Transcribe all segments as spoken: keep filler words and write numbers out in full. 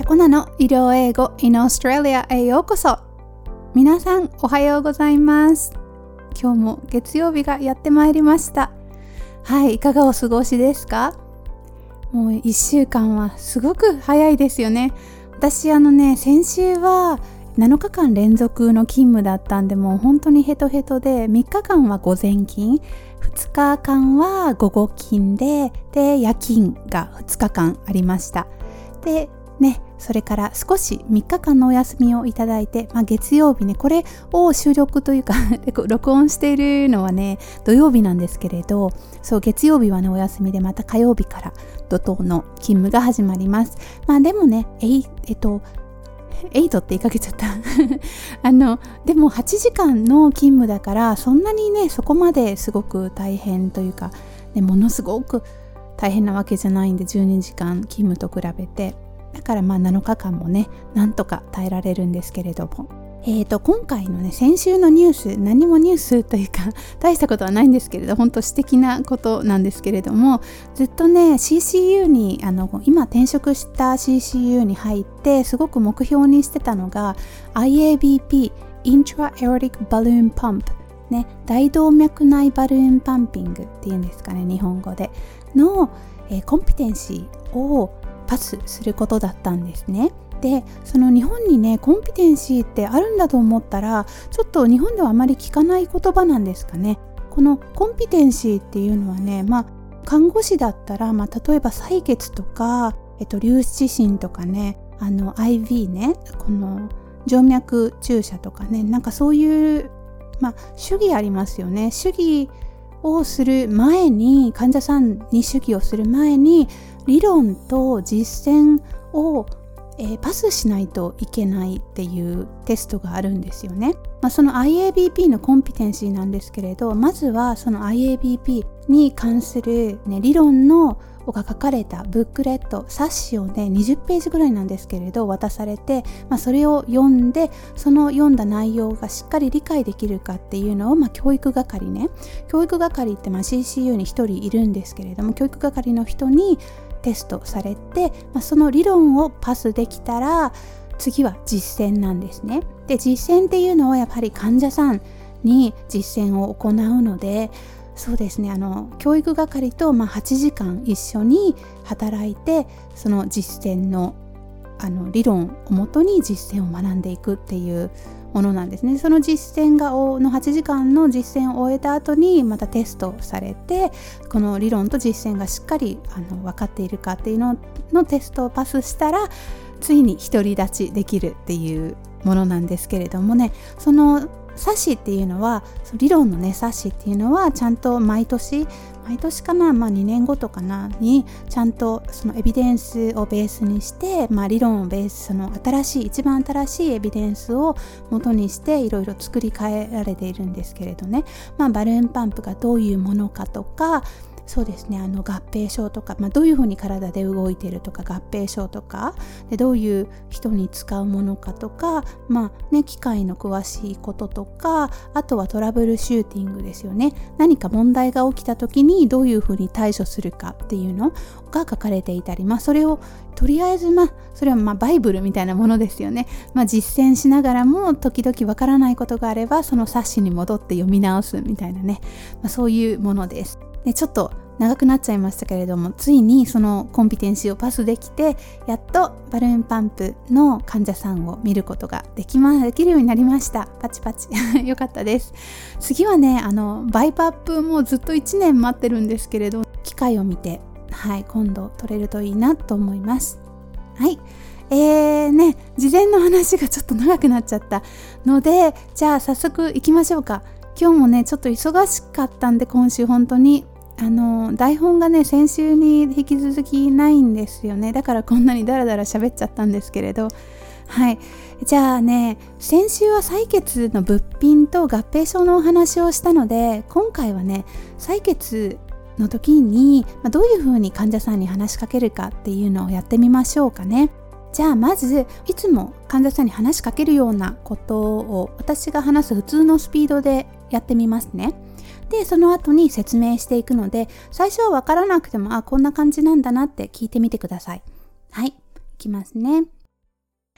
コナの医療英語 in Australia へようこそ。皆さんおはようございます。今日も月曜日がやってまいりました。はい、いかがお過ごしですか？もういっしゅうかんはすごく早いですよね。私あのね、先週はなのかかん連続の勤務だったんで、もう本当にヘトヘトで、みっかかんは午前勤、ふつかかんは午後勤で、で夜勤がふつかかんありました。でね、それから少しみっかかんのお休みをいただいて、まあ、月曜日ね、これを収録というか録音しているのはね土曜日なんですけれど、そう月曜日はねお休みで、また火曜日から怒涛の勤務が始まります。まあでもねえいえっとエイトって言いかけちゃったあのでもはちじかんの勤務だから、そんなにねそこまですごく大変というか、ね、ものすごく大変なわけじゃないんで、じゅうにじかん勤務と比べて、だからまあなのかかんもねなんとか耐えられるんですけれども、えーと今回のね先週のニュース、何もニュースというか大したことはないんですけれど、本当素敵なことなんですけれども、ずっとね シーシーユー にあの今転職した シーシーユー に入ってすごく目標にしてたのが アイエービーピー Intra-Aortic Balloon Pump ね、大動脈内バルーンパンピングっていうんですかね、日本語での、えー、コンピテンシーをパスすることだったんですね。で、その日本にねコンピテンシーってあるんだと思ったら、ちょっと日本ではあまり聞かない言葉なんですかね。このコンピテンシーっていうのはね、まあ看護師だったら、まあ、例えば採血とか、えっと、粒子診とかね、あの アイブイ ね、この静脈注射とかね、なんかそういうまあ手技ありますよね。手技をする前に、患者さんに手技をする前に理論と実践を、えー、パスしないといけないっていうテストがあるんですよね。まあ、その アイエービーピー のコンピテンシーなんですけれど、まずはその アイエービーピー に関する、ね、理論のが書かれたブックレット、冊子をねにじゅっページぐらいなんですけれど渡されて、まあ、それを読んで、その読んだ内容がしっかり理解できるかっていうのを、まあ、教育係ね教育係ってまあ シーシーユー にひとりいるんですけれども、教育係の人にテストされて、まあ、その理論をパスできたら次は実践なんですね。で、実践っていうのはやっぱり患者さんに実践を行うので、そうですね、あの教育係とまあはちじかん一緒に働いて、その実践のあの理論をもとに実践を学んでいくっていうものなんですね。その実践がのはちじかんの実践を終えた後にまたテストされて、この理論と実践がしっかりあの分かっているかっていうののテストをパスしたら、ついに独り立ちできるっていうものなんですけれどもね、その冊子っていうのは、理論のね冊子っていうのはちゃんと毎年毎年かな、まあにねんごとかなにちゃんとそのエビデンスをベースにして、まあ理論をベース、その新しい一番新しいエビデンスを元にしていろいろ作り変えられているんですけれどね、まあバルーンパンプがどういうものかとか、そうですね、あの合併症とか、まあ、どういうふうに体で動いているとか、合併症とかでどういう人に使うものかとか、まあね、機械の詳しいこととか、あとはトラブルシューティングですよね。何か問題が起きた時にどういうふうに対処するかっていうのが書かれていたり、まあそれをとりあえずまあそれはまあバイブルみたいなものですよね。まあ実践しながらも時々わからないことがあれば、その冊子に戻って読み直すみたいなね、まあ、そういうものです。で、ちょっと長くなっちゃいましたけれども、ついにそのコンピテンシーをパスできて、やっとバルーンパンプの患者さんを見ることができま、できるようになりました。パチパチよかったです。次はね、あのバイパップもずっといちねん待ってるんですけれど、機会を見て、はい、今度取れるといいなと思います。はい、えーね、事前の話がちょっと長くなっちゃったので、じゃあ早速行きましょうか。今日もねちょっと忙しかったんで、今週本当にあの台本がね先週に引き続きないんですよね。だからこんなにダラダラ喋っちゃったんですけれど、はい、じゃあね、先週は採血の物品と合併症のお話をしたので、今回はね採血の時に、まあ、どういうふうに患者さんに話しかけるかっていうのをやってみましょうかね。じゃあまずいつも患者さんに話しかけるようなことを私が話す普通のスピードでやってみますね。でその後に説明していくので、最初は分からなくても、あこんな感じなんだなって聞いてみてください。はい、いきますね。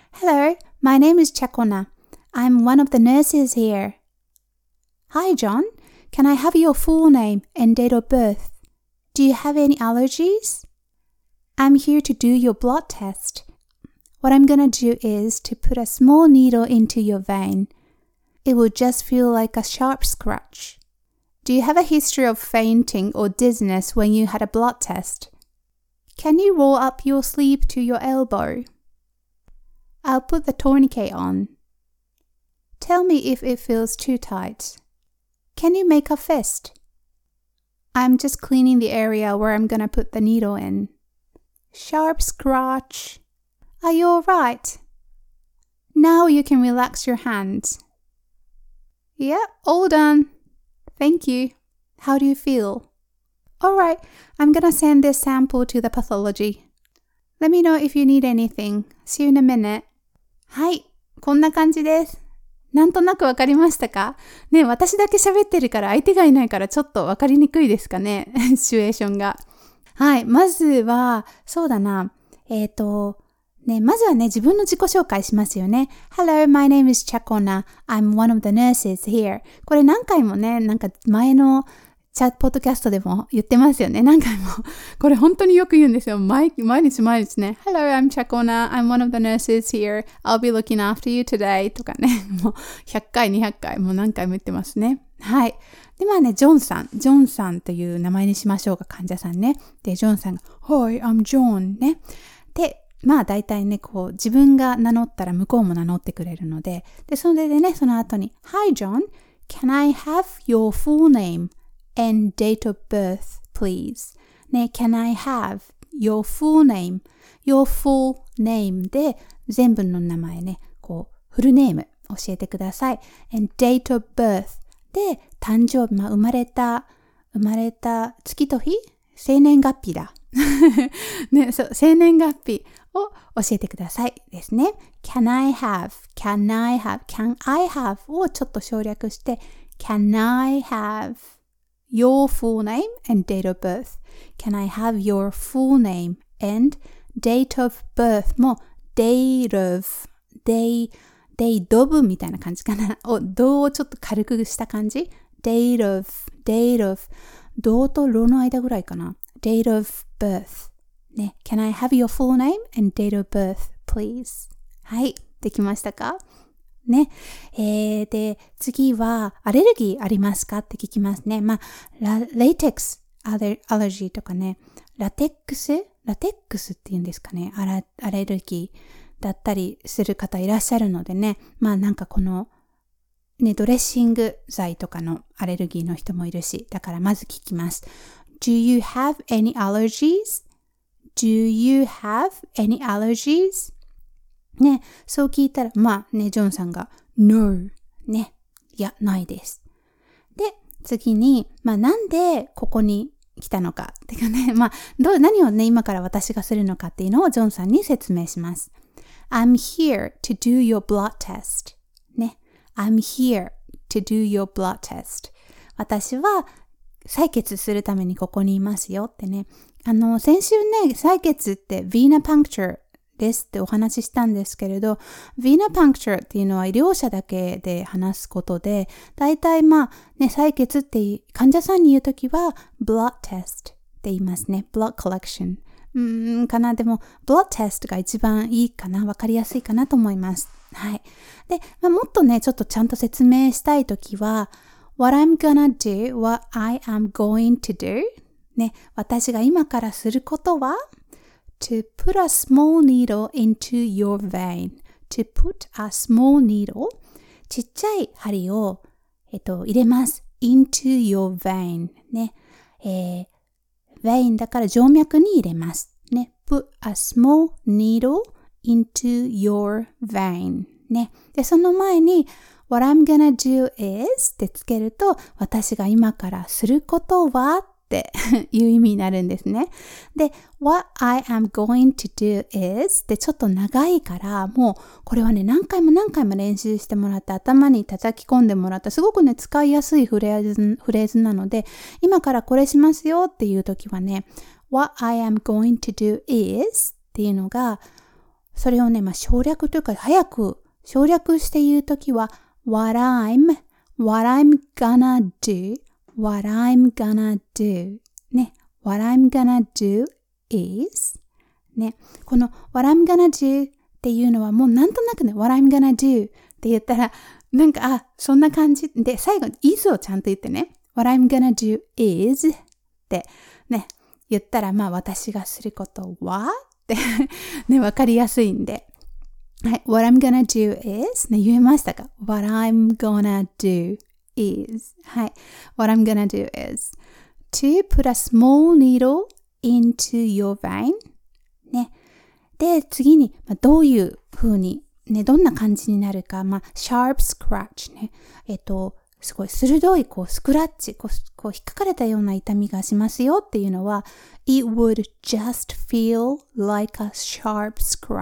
Hello, my name is Chakona. I'm one of the nurses here. Hi, John. Can I have your full name and date of birth? Do you have any allergies? I'm here to do your blood test. What I'm gonna do is to put a small needle into your vein. It will just feel like a sharp scratch. Do you have a history of fainting or dizziness when you had a blood test? Can you roll up your sleeve to your elbow? I'll put the tourniquet on. Tell me if it feels too tight. Can you make a fist? I'm just cleaning the area where I'm gonna put the needle in. Sharp scratch. Are you alright? Now you can relax your hands. Yeah, all done. Thank you. How do you feel? Alright, I'm gonna send this sample to the pathology. Let me know if you need anything. See you in a minute. はい、こんな感じです。なんとなくわかりましたかね、私だけ喋ってるから相手がいないからちょっとわかりにくいですかねシチュエーションが。はい、まずは、そうだな。えっと、ね、まずはね、自分の自己紹介しますよね。Hello, my name is Chakona. I'm one of the nurses here. これ何回もね、なんか前のチャットポッドキャストでも言ってますよね。何回も。これ本当によく言うんですよ。毎, 毎日毎日ね。Hello, I'm Chakona. I'm one of the nurses here. I'll be looking after you today. とかね。もうひゃっかい、にひゃっかい、もう何回も言ってますね。はい。で、まあね、ジョンさん。ジョンさんという名前にしましょうか、患者さんね。で、ジョンさんが、Hi, I'm John ね。で、まあ大体ね、こう、自分が名乗ったら向こうも名乗ってくれるので、で、それでね、その後に、Hi, John. Can I have your full name?And date of birth, please. ね、can I have your full name? Your full name で全部の名前ね、こう、フルネーム教えてください。And date of birth で誕生日、まあ、生まれた、生まれた月と日生年月日だ。ね、そう、生年月日を教えてくださいですね。Can I have, can I have, can I have をちょっと省略して、Can I have your full name and date of birth. Can I have your full name and date of birth も date of, day, date of みたいな感じかな。お、どをちょっと軽くした感じ date of, date of どとろの間ぐらいかな。date of birth ね。Can I have your full name and date of birth, please? はい。できましたかね。えー、で、次は、アレルギーありますかって聞きますね。まあ、ラ、レイテックスアレ、アレルギーとかね、ラテックスラテックスって言うんですかね。アラ、アレルギーだったりする方いらっしゃるのでね。まあなんかこの、ね、ドレッシング剤とかのアレルギーの人もいるし、だからまず聞きます。Do you have any allergies? Do you have any allergies?ね、そう聞いたら、まあね、ジョンさんが No ね、いや、ないです。で、次に、まあなんでここに来たのかっていうかね、まあどう、何をね、今から私がするのかっていうのをジョンさんに説明します。I'm here to do your blood test ね、I'm here to do your blood test 私は採血するためにここにいますよってね。あの、先週ね、採血って Vena punctureですってお話ししたんですけれど、Vena punctureっていうのは医療者だけで話すことで、だいたいまあね、採血って患者さんに言うときは blood test って言いますね。blood collection。うーん、かな。でも blood test が一番いいかな。わかりやすいかなと思います。はい。で、まあ、もっとね、ちょっとちゃんと説明したいときは、What I'm gonna do, what I am going to do ね、私が今からすることはTo put a small needle into your vein. To put a small needle. ちっちゃい針を、えっと、入れます。into your vein. ね。えー、vein だから静脈に入れます。ね。put a small needle into your vein. ね。で、その前に、what I'm gonna do is ってつけると、私が今からすることはっていう意味になるんですね。で、what I am going to do is ってちょっと長いから、もうこれはね、何回も何回も練習してもらって頭に叩き込んでもらったすごくね、使いやすいフレーズ、フレーズなので、今からこれしますよっていう時はね、what I am going to do is っていうのがそれをね、まあ、省略というか、早く省略して言うときは、what I'm, what I'm gonna do, what I'm gonna do. ね、what I'm gonna do is, ね、この what I'm gonna do っていうのはもうなんとなくね、what I'm gonna do って言ったら、なんか、あ、そんな感じ。で、最後に is をちゃんと言ってね、what I'm gonna do is ってね、言ったら、まあ私がすることはってね、わかりやすいんで。はい。What I'm gonna do is ね、言えましたか？ What I'm gonna do is はい。What I'm gonna do is to put a small needle into your vein ね。で、次に、まあ、どういう風にね、どんな感じになるか、まあ、sharp scratch ね。えっと、すごい鋭いこうスクラッチ、こう、こう引っかかれたような痛みがしますよっていうのは It would just feel like a sharp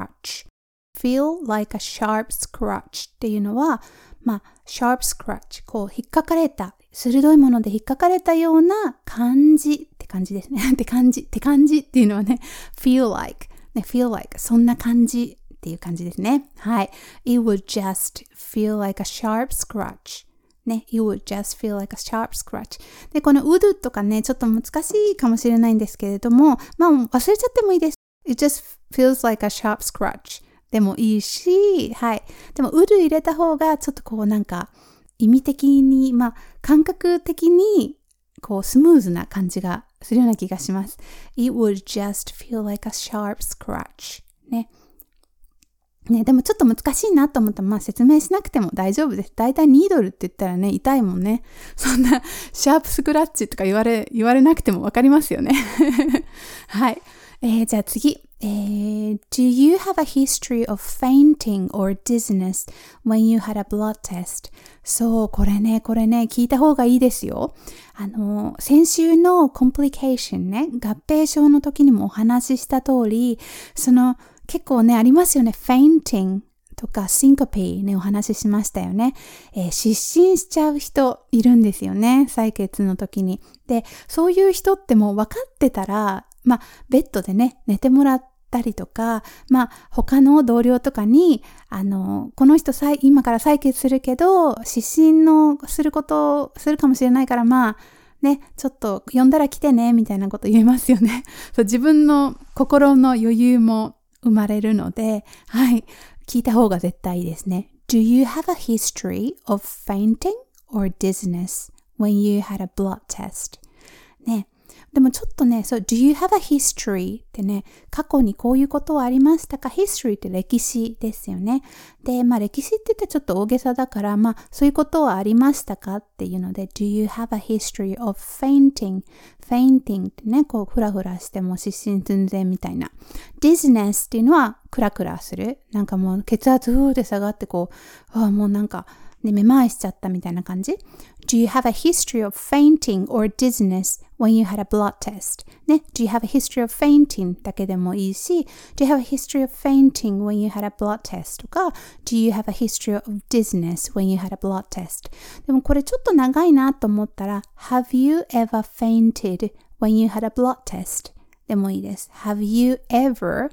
scratch.feel like a sharp scratch っていうのは、まあ、sharp scratch こう引っかかれた鋭いもので引っかかれたような感じって感じですねって感じって感じっていうのはね feel like ね feel like そんな感じっていう感じですね。はい。It would just feel like a sharp scratchね、it would just feel like a sharp scratch で、この would とかねちょっと難しいかもしれないんですけれども、まあ忘れちゃってもいいです。It just feels like a sharp scratchでもいいし、はい。でも、ウル入れた方が、ちょっとこうなんか、意味的に、まあ、感覚的に、こう、スムーズな感じがするような気がします。It would just feel like a sharp scratch. ね。ね、でもちょっと難しいなと思ったら、まあ説明しなくても大丈夫です。だいたいニードルって言ったらね、痛いもんね。そんな、シャープスクラッチとか言われ、言われなくてもわかりますよね。はい。えー、じゃあ次。えー、Do you have a history of fainting or dizziness when you had a blood test? そう、これね、これね、聞いた方がいいですよ。あの、先週の complication ね、合併症の時にもお話しした通り、その、結構ね、ありますよね。fainting とか syncope ね、お話ししましたよね。えー、失神しちゃう人いるんですよね。採血の時に。で、そういう人ってもう分かってたら、まあ、ベッドでね、寝てもらったりとか、まあ、他の同僚とかに、あの、この人さい、今から採血するけど、失神のすることをするかもしれないから、まあ、ね、ちょっと呼んだら来てね、みたいなこと言えますよね。そう、自分の心の余裕も生まれるので、はい、聞いた方が絶対いいですね。Do you have a history of fainting or dizziness when you had a blood test? ね。でもちょっとね、そう、do you have a history ってね、過去にこういうことはありましたか？ history って歴史ですよね。で、まあ歴史って言ってちょっと大げさだから、まあそういうことはありましたかっていうので、do you have a history of fainting? fainting ってね、こうフラフラしても失神寸前みたいな。dizziness っていうのはクラクラする。なんかもう血圧ふーって下がってこう、ああもうなんか、ね、めまいしちゃったみたいな感じ。Do you have a history of fainting or dizziness when you had a blood test? ね。Do you have a history of fainting だけでもいいし、Do you have a history of fainting when you had a blood test? とか、Do you have a history of dizziness when you had a blood test? でもこれちょっと長いなと思ったら、Have you ever fainted when you had a blood test? でもいいです。Have you ever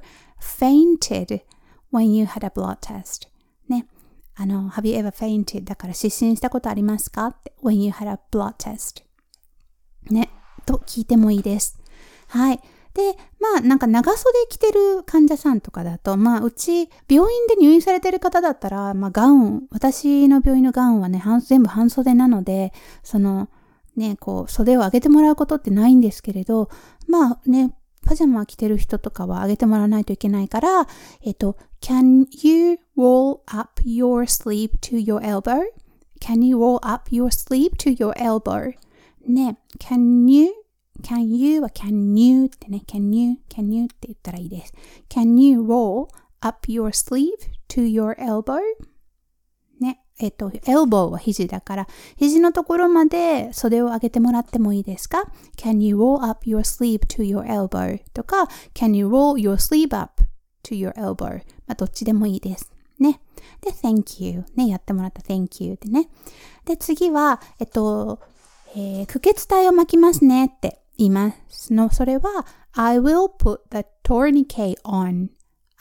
fainted when you had a blood test? ね。あの、have you ever fainted? だから失神したことありますかって when you had a blood test. ね。と聞いてもいいです。はい。で、まあなんか長袖着てる患者さんとかだと、まあうち病院で入院されてる方だったら、まあガウン、私の病院のガウンはね、全部半袖なので、そのね、こう袖を上げてもらうことってないんですけれど、まあね、パジャマ着てる人とかは上げてもらわないといけないから、えっと、Can you roll up your sleeve to your elbow? Can you roll up your sleeve to your elbow? ね、Can you? Can you は Can you ってね、Can you? Can you って言ったらいいです。Can you roll up your sleeve to your elbow? ね、えっと、elbow は肘だから、肘のところまで袖を上げてもらってもいいですか？ Can you roll up your sleeve to your elbow? とか、Can you roll your sleeve up to your elbow? まあ、どっちでもいいです。ね。で、Thank you. ね、やってもらった Thank you ってね。で、次は、えっと、えー、駆血体を巻きますねって言いますの。それは、I will put the tourniquet on.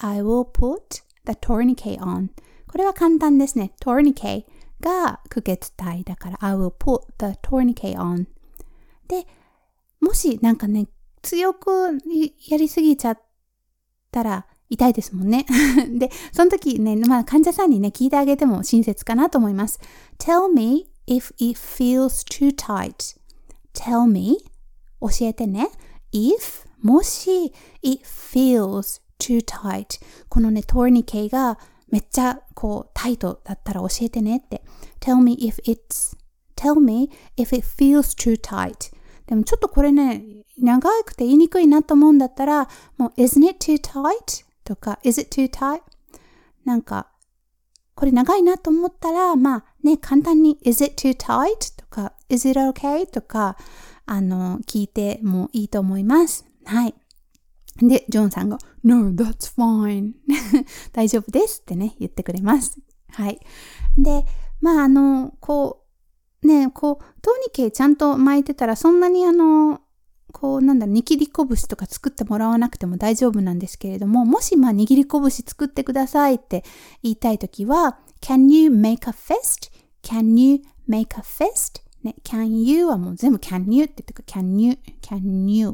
I will put the tourniquet on. これは簡単ですね。tourniquet が区別体だから I will put the tourniquet on. で、もしなんかね、強くやりすぎちゃったら痛いですもんね。で、その時ね、まあ患者さんにね、聞いてあげても親切かなと思います。Tell me if it feels too tight. Tell me 教えてね。if もし it feels too tight このね、tourniquet がめっちゃこうタイトだったら教えてねって。Tell me if it's Tell me if it feels too tight でもちょっとこれね、長くて言いにくいなと思うんだったら、もう Isn't it too tight? とか Is it too tight? なんかこれ長いなと思ったら、まあね、簡単に Is it too tight? とか Is it okay? とかあの聞いてもいいと思います。はい。で、ジョンさんが No, that's fine 大丈夫ですってね、言ってくれます。はい。で、まああの、こう、ね、こう、トーニケちゃんと巻いてたら、そんなにあの、こう、なんだろう、握り拳とか作ってもらわなくても大丈夫なんですけれども、もしまあ握り拳作ってくださいって言いたいときは、Can you make a fist? Can you make a fist? ね、can you はもう全部 can you って言ってくる。can you, can you,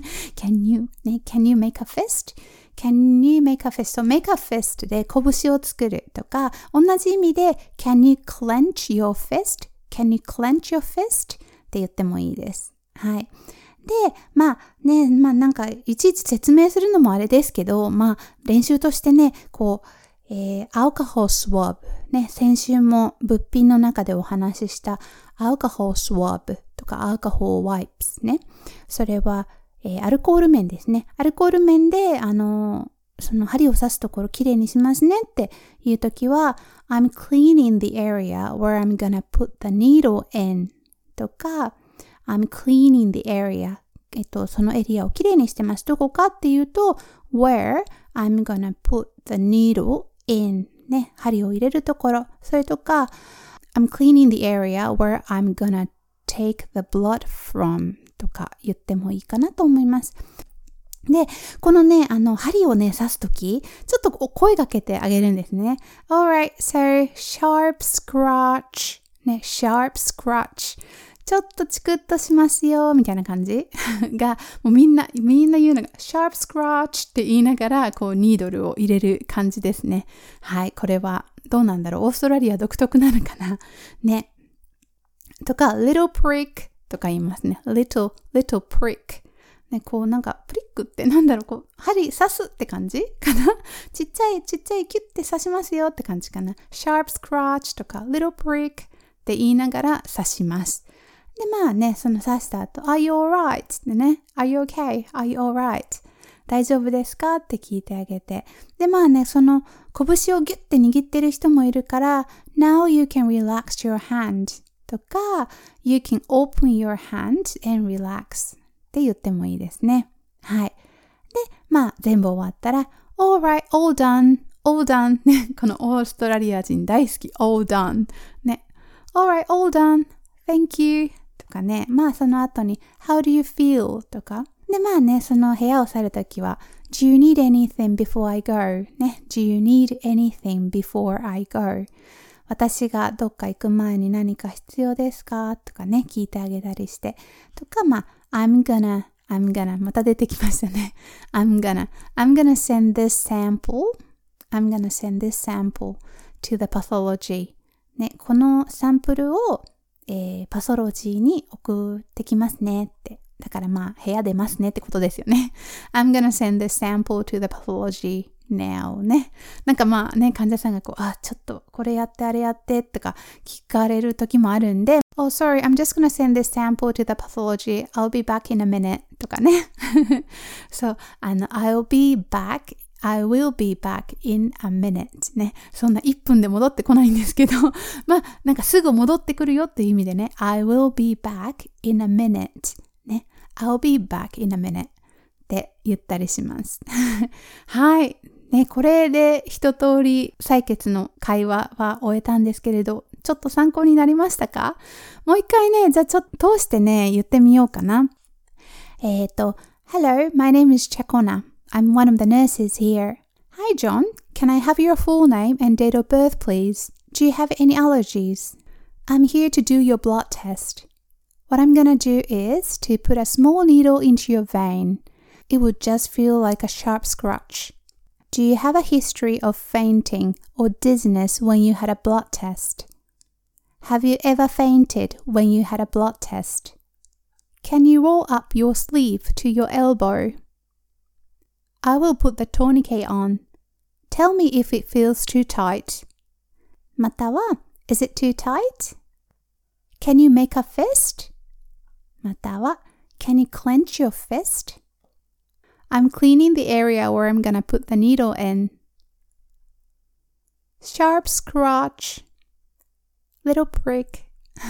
can you, ね、can you make a fist? Can you make a fist? So make a fist で拳を作るとか、同じ意味で Can you clench your fist?Can you clench your fist? って言ってもいいです。はい。で、まあね、まあなんかいちいち説明するのもあれですけど、まあ練習としてね、こう、えー、アルコホールスワブ、ね、先週も物品の中でお話ししたアルコホールスワブとかアルコホールワイプスね。それは、えー、アルコール面ですね。アルコール面で、あのー、その針を刺すところきれいにしますねっていうときは、I'm cleaning the area where I'm gonna put the needle in とか、I'm cleaning the area えっと、そのエリアをきれいにしてます。どこかっていうと、where I'm gonna put the needle in ね、針を入れるところ。それとか、I'm cleaning the area where I'm gonna take the blood from とか言ってもいいかなと思います。で、このね、あの、針をね、刺すとき、ちょっと声かけてあげるんですね。Alright, so sharp scratch ね、sharp scratch ちょっとチクッとしますよ、みたいな感じが、もうみんな、みんな言うのが、sharp scratch って言いながら、こう、ニードルを入れる感じですね。はい、これは、どうなんだろう、オーストラリア独特なのかなね。とか、little prick とか言いますね。little, little prick。ね、こうなんか、プリックってなんだろう、こう、針刺すって感じかなちっちゃい、ちっちゃいキュッて刺しますよって感じかな。sharp scratch とか、little prick って言いながら刺します。で、まあね、その刺した後、Are you alright? ってね、Are you okay? Are you alright? 大丈夫ですかって聞いてあげて。で、まあね、その拳をギュッて握ってる人もいるから、Now you can relax your hand とか、You can open your hand and relax って言ってもいいですね。はい。で、まあ全部終わったら、Alright, all done, all done ね、このオーストラリア人大好き、all done ね。Alright, all done, thank youとかね、まあその後に How do you feel? とかでまあね、その部屋を去るときは Do you need anything before I go? ね、Do you need anything before I go? 私がどっか行く前に何か必要ですかとかね、聞いてあげたりしてとか、まあ I'm gonna, I'm gonna また出てきましたね I'm gonna, I'm gonna send this sample I'm gonna send this sample to the pathology ね、このサンプルをえー、パソロジーに送ってきますねって。だからまあ部屋出ますねってことですよね。I'm gonna send this sample to the pathology now ね。なんかまあね、患者さんがこう、あ、ちょっとこれやってあれやってとか聞かれる時もあるんで、Oh sorry, I'm just gonna send this sample to the pathology. I'll be back in a minute とかね。そう、あの、I'll be back I will be back in a minute ね。そんないっぷんで戻ってこないんですけど、まあ、なんかすぐ戻ってくるよっていう意味でね、I will be back in a minute ね。I'll be back in a minute って言ったりします。はい。ね、これで一通り採血の会話は終えたんですけれど、ちょっと参考になりましたか？もう一回ね、じゃあちょっと通してね、言ってみようかな。えっと、Hello, my name is Chakona.I'm one of the nurses here. Hi John, can I have your full name and date of birth please? Do you have any allergies? I'm here to do your blood test. What I'm gonna do is to put a small needle into your vein. It would just feel like a sharp scratch. Do you have a history of fainting or dizziness when you had a blood test? Have you ever fainted when you had a blood test? Can you roll up your sleeve to your elbow? I will put the tourniquet on. Tell me if it feels too tight. または Is it too tight? Can you make a fist? または Can you clench your fist? I'm cleaning the area where I'm gonna put the needle in. Sharp scratch. Little prick.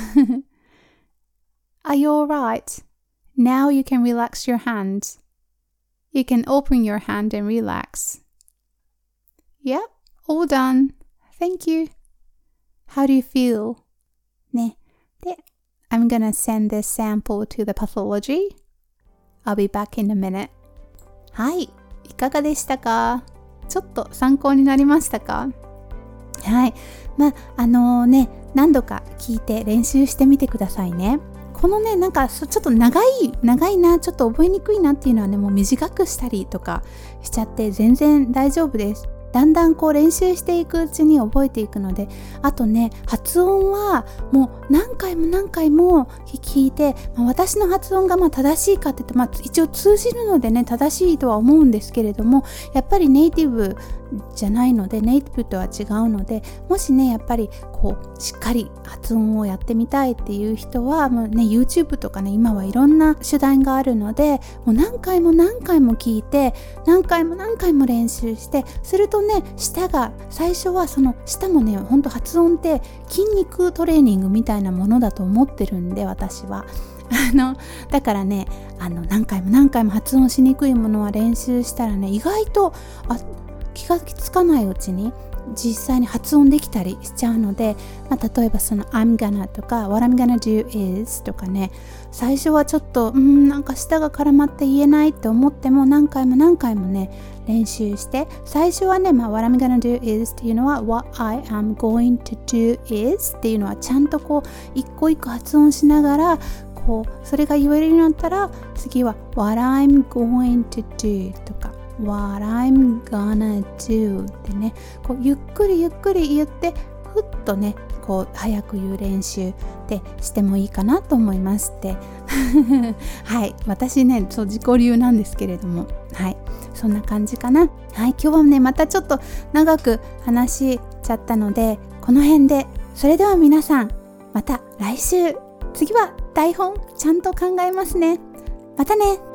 Are you alright? Now you can relax your hand. You can open your hand and relax. Yep, all done. Thank you. How do you feel? ね。で、I'm gonna send this sample to the pathology. I'll be back in a minute. はい、いかがでしたか？ちょっと参考になりましたか？はい、まああのね、何度か聞いて練習してみてくださいね。このね、なんかちょっと長い長いな、ちょっと覚えにくいなっていうのはね、もう短くしたりとかしちゃって全然大丈夫です。だんだんこう練習していくうちに覚えていくので、あとね、発音はもう何回も何回も聞いて、まあ、私の発音がまあ正しいかって言って、まあ、一応通じるのでね、正しいとは思うんですけれども、やっぱりネイティブじゃないので、ネイティブとは違うので、もしね、やっぱりこうしっかり発音をやってみたいっていう人は、もうね、YouTube とかね、今はいろんな手段があるので、もう何回も何回も聞いて、何回も何回も練習して、するとね、舌が最初はその舌もね、ほんと発音って筋肉トレーニングみたいなものだと思ってるんで、私はあのだからね、あの何回も何回も発音しにくいものは練習したらね、意外とあ気がつかないうちに実際に発音できたりしちゃうので、まあ、例えばその I'm gonna とか What I'm gonna do is とかね、最初はちょっとうんなんか舌が絡まって言えないって思っても、何回も何回もね練習して、最初はね、まあ、What I'm gonna do is っていうのは What I am going to do is っていうのはちゃんとこう一個一個発音しながら、こうそれが言えるようになったら、次は What I'm going to do とかWhat I'm gonna do ってね、こうゆっくりゆっくり言って、ふっとねこう早く言う練習ってしてもいいかなと思いますってはい、私ねそう自己流なんですけれども、はい、そんな感じかな。はい、今日はねまたちょっと長く話しちゃったので、この辺で。それでは皆さん、また来週。次は台本ちゃんと考えますね。またね。